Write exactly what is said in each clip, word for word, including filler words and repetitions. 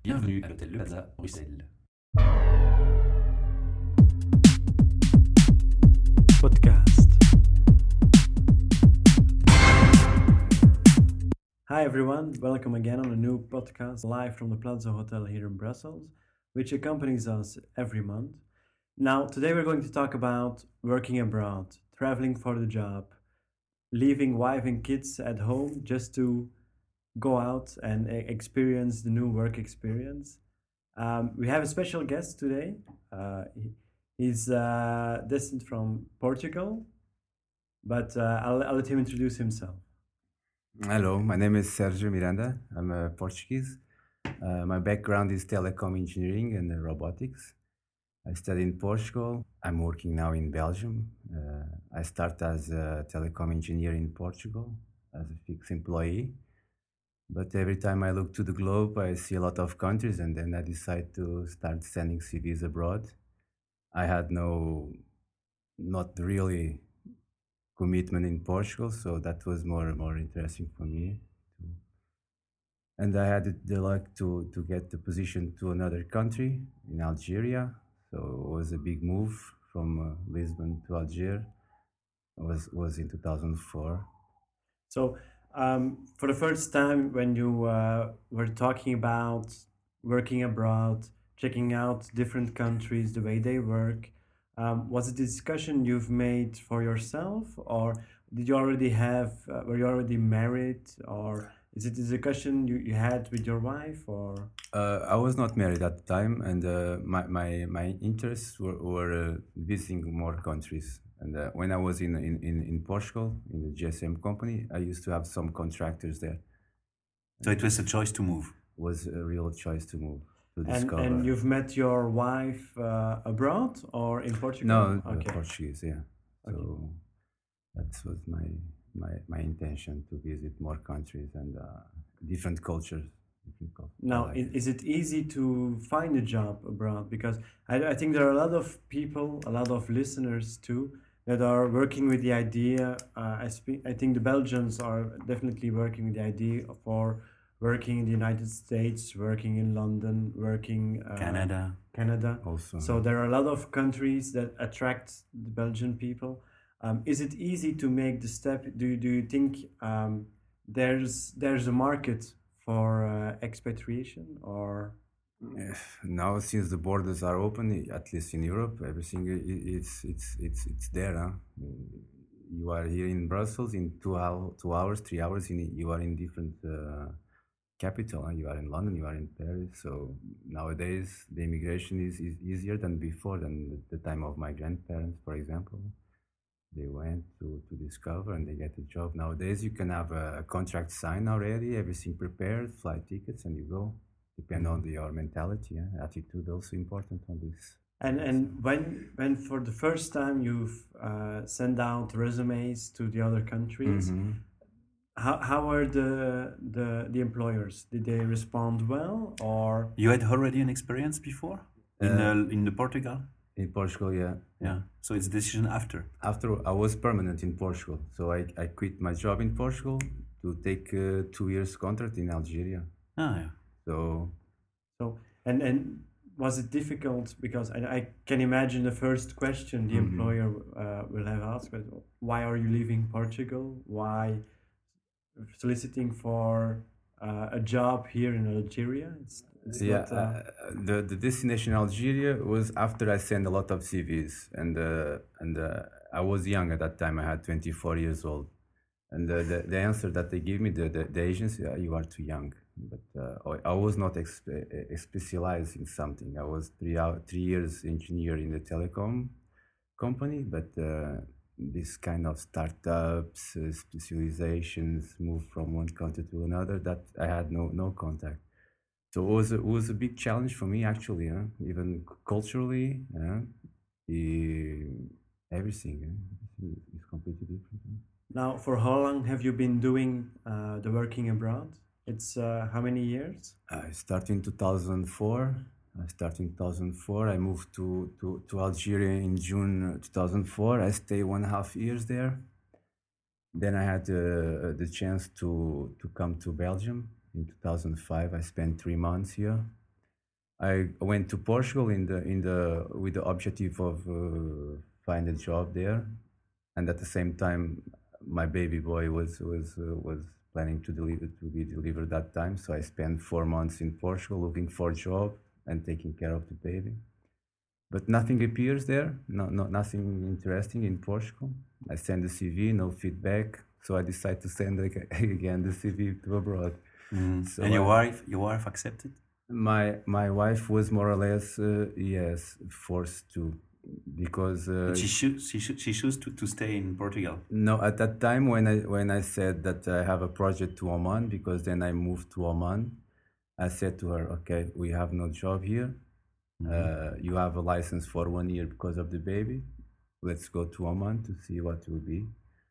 Bienvenue à l'hôtel Le Plaza, Bruxelles. Podcast. Hi everyone, welcome again on a new podcast live from the Plaza Hotel here in Brussels, which accompanies us every month. Now, today we're going to talk about working abroad, traveling for the job, leaving wife and kids at home just to go out and e- experience the new work experience. Um, we have a special guest today. Uh, he, he's uh, destined from Portugal, but uh, I'll, I'll let him introduce himself. Hello, my name is Sergio Miranda. I'm a Portuguese. Uh, my background is telecom engineering and uh, robotics. I studied in Portugal. I'm working now in Belgium. Uh, I start as a telecom engineer in Portugal as a fixed employee. But every time I look to the globe, I see a lot of countries, and then I decide to start sending C Vs abroad. I had no, not really commitment in Portugal, so that was more more interesting for me. And I had the luck to to get the position to another country in Algeria. So it was a big move from uh, Lisbon to Algiers. It was was in two thousand four. So, um, for the first time, when you uh, were talking about working abroad, checking out different countries, the way they work, um, was it a discussion you've made for yourself, or did you already have, uh, were you already married, or is it a discussion you, you had with your wife, or? Uh, I was not married at the time, and uh, my, my my interests were, were uh, visiting more countries. And uh, when I was in, in, in, in Portugal, in the G S M company, I used to have some contractors there. So it was a choice to move. It was a real choice to move, to And, discover. and you've met your wife uh, abroad or in Portugal? No, uh, Okay. Portuguese, yeah. So that was my, my my intention to visit more countries and uh, different cultures. Different cultures. I Now, like is, it. is it easy to find a job abroad? Because I, I think there are a lot of people, a lot of listeners too, that are working with the idea. Uh, I speak. I think the Belgians are definitely working with the idea for working in the United States, working in London, working uh, Canada. Canada. Also, So there are a lot of countries that attract the Belgian people. Um, is it easy to make the step? Do do you think um, there's there's a market for uh, expatriation, or? eh, now since the borders are open, i- at least in Europe, everything i- i- it's it's it's it's there. Huh? Mm, You are here in Brussels in two hour, two hours, three hours. In you are in different uh, capital. Huh? You are in London, you are in Paris. So nowadays the immigration is, is easier than before, than the, the time of my grandparents, for example. They went to, to discover and they get a job. Nowadays, you can have a, a contract signed already, everything prepared, flight tickets, and you go. Depend on the, your mentality, yeah? Attitude also important on this. And and when when for the first time you've uh, sent out resumes to the other countries, Mhm. how how are the the the employers? Did they respond well, or? You had already an experience before in Uh, uh, in the Portugal. In Portugal, yeah. Yeah. So it's a decision after. After I was permanent in Portugal, so I, I quit my job in Portugal to take a two years contract in Algeria. Ah, yeah. So So, and and was it difficult? Because I, I can imagine the first question the Mhm. employer uh, will have asked, was, why are you leaving Portugal? Why soliciting for uh, a job here in Algeria? It's, it's yeah, not. Uh, uh, the the destination Algeria was after I sent a lot of C Vs, and uh, and uh, I was young at that time. I had twenty-four years old, and uh, the the answer that they gave me, the the, the agency, uh, you are too young. But uh, I, I was not exp- uh, specialized in something. I was three hour, three years engineer in the telecom company, but uh, this kind of startups, uh, specializations, move from one country to another, that I had no no contact. So it was a, it was a big challenge for me actually, huh? Even c- culturally, yeah, the, everything huh? is completely different. Huh? Now, for how long have you been doing uh, the working abroad? It's uh, how many years? I started in two thousand four. I started in two thousand four. I moved to, to, to Algeria in June uh, two thousand four. I stayed one and a half years there. Then I had uh, the chance to, to come to Belgium in two thousand five. I spent three months here. I went to Portugal in the in the with the objective of uh, find a job there, and at the same time, my baby boy was was uh, was planning to deliver to be delivered that time. So I spent four months in Portugal looking for a job and taking care of the baby. But nothing appears there. No, no, nothing interesting in Portugal. I send the C V, no feedback. So I decide to send ag- again the C V to abroad. Mm. So and your I- wife, your wife accepted? My my wife was more or less uh, yes forced to because uh, But she should, she should, she chose to, to stay in Portugal. no, at that time when I when I said that I have a project to Oman, because then I moved to Oman, I said to her, okay, we have no job here. Uh, you have a license for one year because of the baby. Let's go to Oman to see what will be.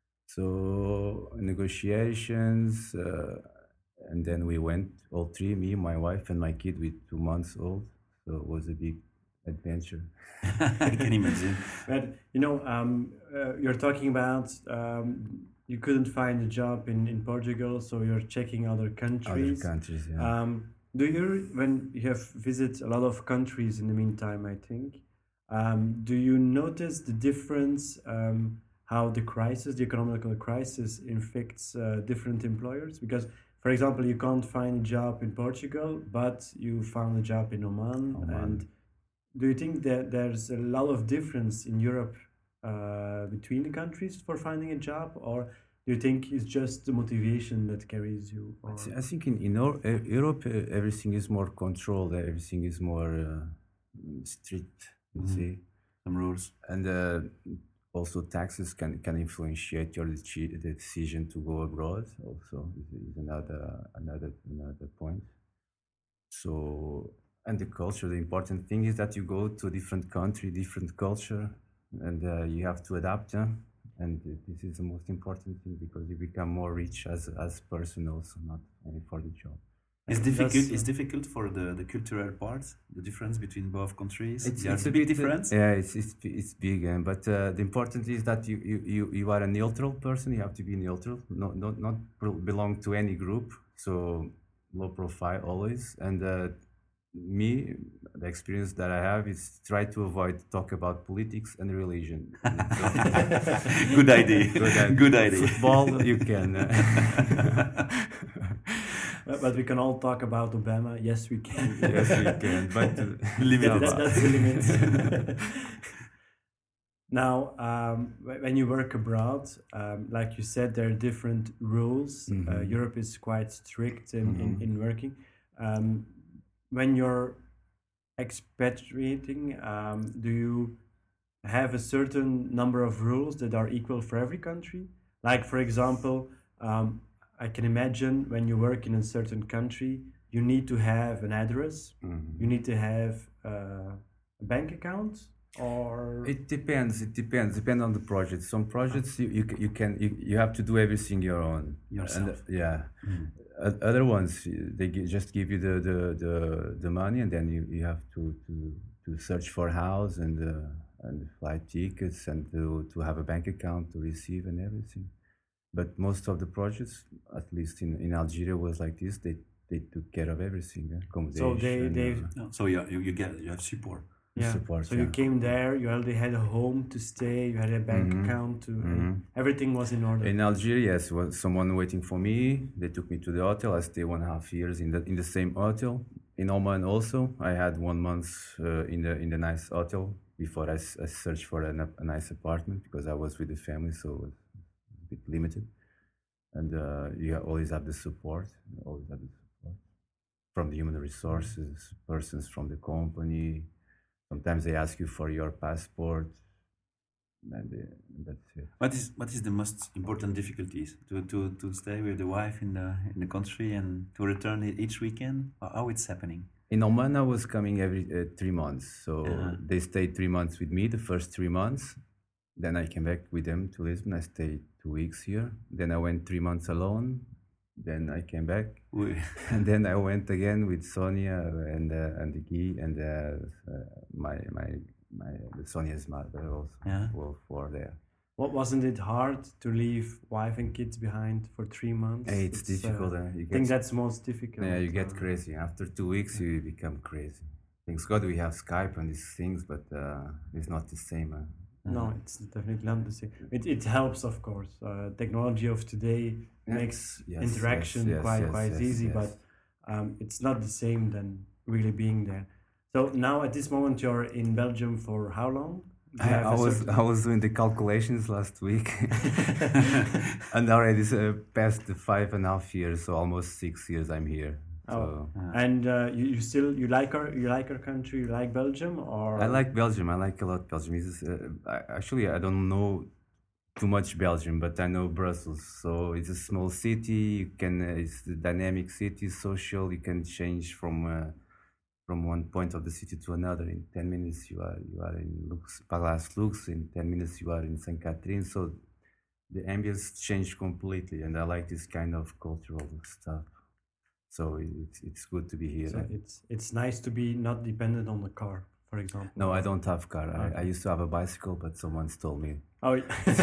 So negotiations, uh, and then we went all three, me, my wife, and my kid with two months old. So it was a big adventure. I can imagine. But you know, um, uh, you're talking about um, you couldn't find a job in, in Portugal, so you're checking other Other countries. countries, yeah. Um, do you, when you have visited a lot of countries in the meantime, I think, um, do you notice the difference, um, how the crisis, the economical crisis, infects uh, different employers? Because, for example, you can't find a job in Portugal, but you found a job in Oman. Oman. And do you think that there's a lot of difference in Europe uh, between the countries for finding a job, or do you think it's just the motivation that carries you? I Or... thi- I think in, in Eur- uh, Europe, uh, everything is more controlled, uh, everything is more uh, mm, strict, you Mhm. see. Some rules. And uh, also taxes can, can influence your deci- the decision to go abroad. Also, is, is another another another point. So, and the culture. The important thing is that you go to a different country, different culture, and uh, you have to adapt. Yeah? And uh, this is the most important thing because you become more rich as as person, also not only for the job. It's And difficult. that's, It's uh, difficult for the, the cultural part, the difference between both countries. It's, There's it's a big bit- difference. Yeah, it's it's it's big, uh, but uh, the important is that you, you, you, you are a neutral person. You have to be neutral, not not not pro- belong to any group. So low profile always. And uh, me, the experience that I have is try to avoid talk about politics and religion. Good idea. Good idea. Good idea. Football, you can. uh, But, but we can all talk about Obama. Yes, we can. yes, we can, but uh, Limit That- that- that's the limit. Now, um, wh- when you work abroad, um, like you said, there are different rules. Uh, Mhm. Europe is quite strict in, in, Mhm. in working. Um, when you're expatriating, um, do you have a certain number of rules that are equal for every country? Like, for example, um, I can imagine when you work in a certain country, you need to have an address, Mhm. you need to have uh, a bank account, or It depends. It depends. Depend on the project. Some projects you you, ca- you can you, you have to do everything your own. Yourself. And, uh, yeah. Mm. O- Other ones y- they gi- just give you the, the, the, the money and then you, you have to, to, to search for a house and uh, and flight tickets and to, to have a bank account to receive and everything. But most of the projects, at least in, in Algeria, was like this. They they took care of everything. Uh, accommodation. they- they- uh, No, so you, you you get you have support. yeah. support, So you yeah. came there, you already had a home to stay, you had a bank Mhm. account, to, Mhm. and everything was in order. In Algeria, yes, was someone waiting for me. They took me to the hotel. I stayed one and a half years in the in the same hotel. In Oman also, I had one month uh, in the in the nice hotel before I, s- I searched for a, a nice apartment because I was with the family, so it was a bit limited. And uh, you ha- always have the support. You always have the support from the human resources, persons from the company. Sometimes they ask you for your passport, and, they, and that's it. What is what is the most important difficulties to, to, to stay with the wife in the in the country and to return e- each weekend? How, how it's happening? In Oman, I was coming every uh, three months. So Uh-huh. they stayed three months with me, the first three months. Then I came back with them to Lisbon. I stayed two weeks here. Then I went three months alone. Then I came back. We, And then I went again with Sonia and uh, and the Guy and uh, uh, my my my Sonia's mother also Yeah. were for there. What wasn't it hard to leave wife and kids behind for three months? Hey, it's, difficult. uh, uh, you I think get, that's most difficult. yeah, you get uh, crazy. After two weeks, you become crazy. Thanks God we have Skype and these things, but uh, it's not the same. Uh, No, it's definitely not the same. It it helps, of course. Uh, technology of today Yeah. makes Yes, interaction yes, yes, quite yes, quite yes, easy, yes. but um, it's not the same than really being there. So now at this moment you're in Belgium for how long? Do you I, have I a was certain- I was doing the calculations last week, and already uh, past the five and a half years, so almost six years I'm here. So Oh. And uh, you, you still you like our you like our country, you like Belgium, or I like Belgium. I like a lot Belgium. It's, uh, I, actually, I don't know too much Belgium, but I know Brussels. So it's a small city. You can uh, it's a dynamic city, social. You can change from uh, from one point of the city to another. In ten minutes, you are you are in Lux, Palace Lux. In ten minutes, you are in Saint Catherine. So the ambience changed completely, and I like this kind of cultural stuff. So it's it's good to be here. So it's it's nice to be not dependent on the car, for example. No, I don't have car. I, I Okay. used to have a bicycle, but someone stole me. Oh,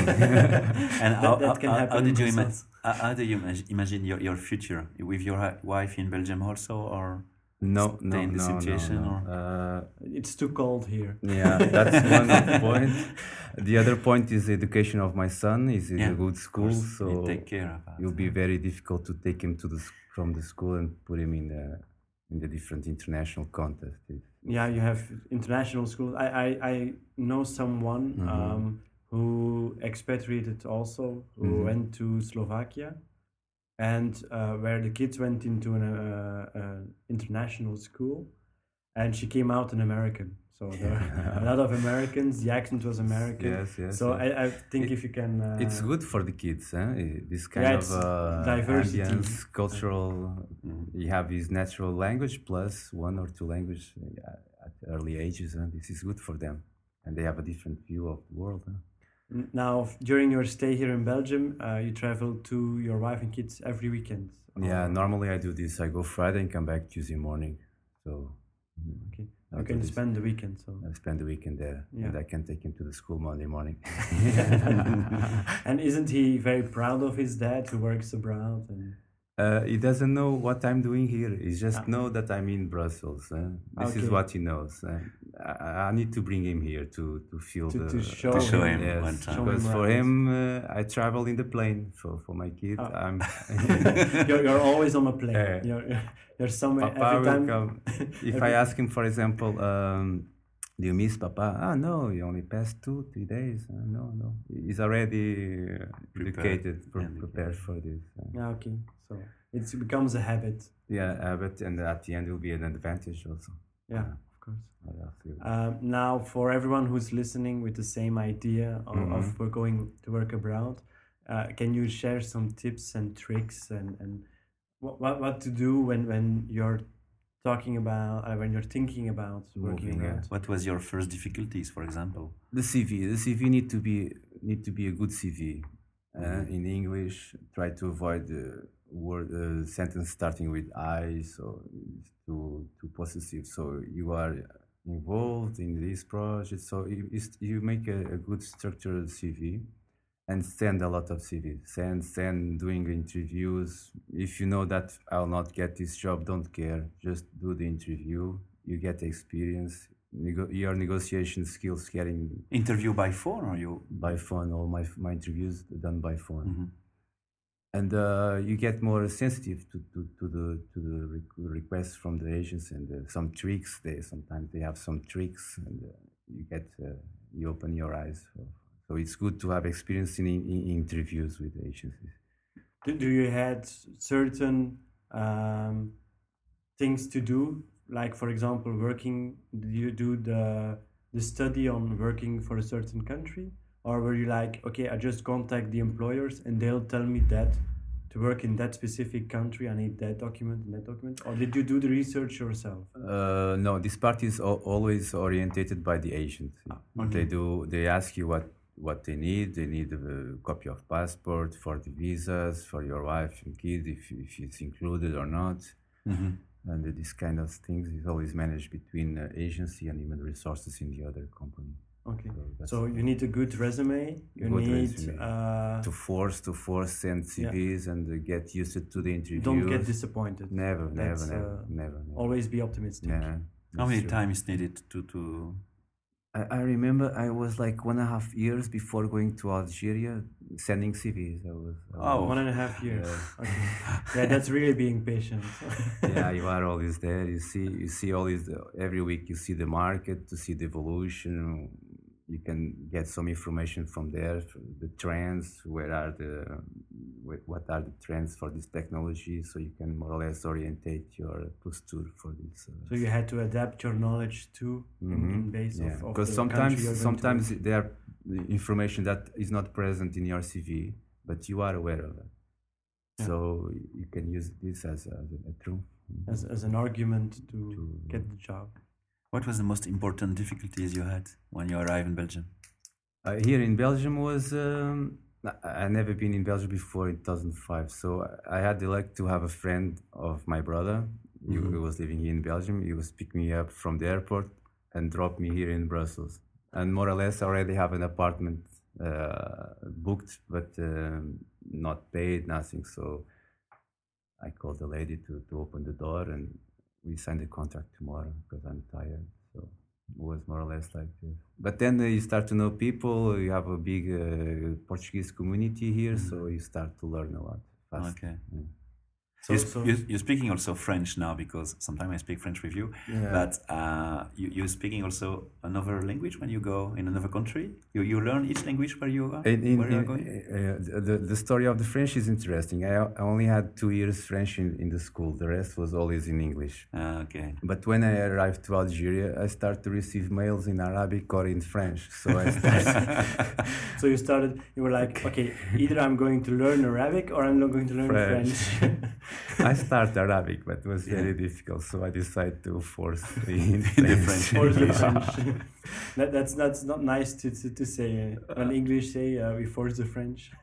And how, that how, can how- happen how did in you imagine? Brussels. How, how do you imag- imagine your, your future with your wi- wife in Belgium also, or No, stay no, in the no, situation, no, or no. Uh, It's too cold here. yeah, that's one of the point. The other point is the education of my son. He's in Yeah, a good of school, course, you so take care about it will be it. very difficult to take him to the s- from the school and put him in the in the different international contests. It's- Yeah, you have international schools. I I, I know someone Mhm. um, who expatriated also, who Mhm. went to Slovakia, and uh, where the kids went into an uh, uh, international school, and she came out an American. So there were a lot of Americans. The accent was American. Yes, yes. So yes. I, I think It- if you can, uh, It's good for the kids, huh? Eh, This kind Yeah, of it's uh, diversity. ambience, cultural. Mhm. You have his natural language plus one or two language uh, at early ages, and this is good for them, and they have a different view of the world. Huh? N- Now, f- during your stay here in Belgium, uh, you travel to your wife and kids every weekend. Yeah, or- normally I do this. I go Friday and come back Tuesday morning, so Okay, I you do can this. spend the weekend. So, I spend the weekend there, Yeah. and I can take him to the school Monday morning. and isn't he very proud of his dad who works abroad? And Uh, he doesn't know what I'm doing here. He just Ah. know that I'm in Brussels. Uh, this is Okay. what he knows. Uh, I, I need to bring him here to, to feel To- the to show To show him yes, one time. Show him because for around. him, uh, I travel in the plane. For for my kid, Ah. I'm. you're, you're always on a plane. Yeah. You're, you're somewhere Papa every will time. come. If I every- ask him, for example, um, do you miss Papa? Ah, no, he only passed two, three days. Uh, no, no, he's already uh, Prepared. educated, pre- Yeah, prepared for this. Uh, Yeah, okay. So it's, it becomes a habit. yeah, uh, but and at the end it will be an advantage also. Yeah, Uh, of course. I feel. Um, now, for everyone who's listening with the same idea of, Mhm. of we're going to work abroad, uh, can you share some tips and tricks and, and what, what, what to do when, when you're talking about, uh, when you're thinking about working Moving, yeah. abroad? What was your first difficulties, for example? The C V, the C V need to be need to be a good C V. Uh, Mhm. In English, try to avoid the word uh, sentence starting with I, so it's too too possessive. So you are involved in this project. So you is- you make a, a good structured C V, and send a lot of C Vs. Send send doing interviews. If you know that I'll not get this job, don't care. Just do the interview. You get experience. Nego- your negotiation skills getting Interview by phone, or you? by phone. All my my interviews done by phone, Mhm. and uh, you get more sensitive to, to, to the to the requ- requests from the agents and uh, some tricks. They sometimes they have some tricks, and uh, you get uh, you open your eyes. For, so it's good to have experience in, in, in interviews with agencies. Do, do you had certain um, things to do? Like, for example, working, do you do the, the study on working for a certain country? Or were you like, okay, I just contact the employers and they'll tell me that to work in that specific country, I need that document and that document? Or did you do the research yourself? Uh, no, this part is al- always orientated by the agent. They do. They ask you what what they need. They need a copy of passport for the visas for your wife and kid, if if it's included or not. Mhm. And uh, this kind of things is always managed between uh, agency and human resources in the other company. Okay. So that's So you need a good resume. You Good need resume. uh, to force to force send C Vs and uh, get used to the interviews. don't get disappointed. Never, never, That's, never, uh, never, never. Always be optimistic. Yeah. How many true. times needed to to? I, I remember I was like one and a half years before going to Algeria sending C Vs. I was. I Oh. was- One and a half years. Okay. Yeah, that's really being patient. yeah, you are always there. You see, you see all this every week. You see the market to see the evolution. You can get some information from there, the trends. Where are the, wh- what are the trends for this technology? So you can more or less orientate your posture for this. Uh, So you had to adapt your knowledge too in, in base yeah, of, of because the sometimes country you're going sometimes to. there are information that is not present in your C V, but you are aware of it. Yeah. So you can use this as a, as a tool. as, as an argument to To- get the job. What was the most important difficulties you had when you arrived in Belgium? Uh, here in Belgium was um, I I never been in Belgium before in two thousand five, so I had the luck to have a friend of my brother. He, he was living here in Belgium. He was picking me up from the airport and dropped me here in Brussels. And more or less, I already have an apartment uh, booked, but um, not paid, nothing. So I called the lady to, to open the door, and we signed the contract tomorrow because I'm tired. So it was more or less like this. But then uh, you start to know people. You have a big uh, Portuguese community here, so you start to learn a lot fast. Okay. Yeah. So, you, so you, you're speaking also French now because sometimes I speak French with you. Yeah. But uh, you, you're speaking also another language when you go in another country. You you learn each language where you are. In, in, where you are in- going. uh, the, the story of the French is interesting. I, I only had two years French in, in the school. The rest was always in English. Ah, okay. But when I arrived to Algeria, I started to receive mails in Arabic or in French. So I started so you started. You were like, okay, either I'm going to learn Arabic or I'm not going to learn French. French. I started Arabic, but it was very Yeah. difficult. So I decided to force in The French. French. Or the Yeah. French. that, that's that's not nice to to, to say. Uh, when English say uh, we force the French.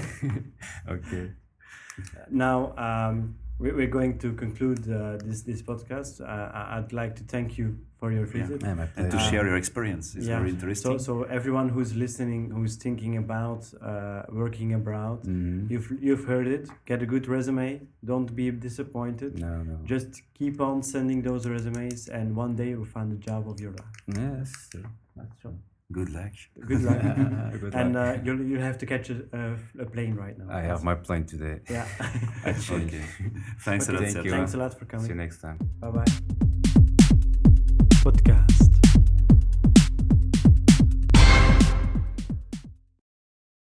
Okay. Now um, we, we're going to conclude uh, this this podcast. Uh, I- I'd like to thank you for your Yeah. visit. Yeah, my And to pleasure. share your experience is very interesting. So, so everyone who's listening, who's thinking about uh, working abroad, Mhm. you've you've heard it. Get a good resume. Don't be disappointed. No, no. Just keep on sending those resumes, and one day you'll find the job of your life. Yes, true. That's true. Good luck. Good luck. Good and luck. uh, you'll you have to catch a, a, a plane right now. I have my plane today. Yeah. I changed. Okay. Thanks Okay, a lot, thank Sergio. you. Thanks a lot for See you coming. next time. Bye bye. Podcast.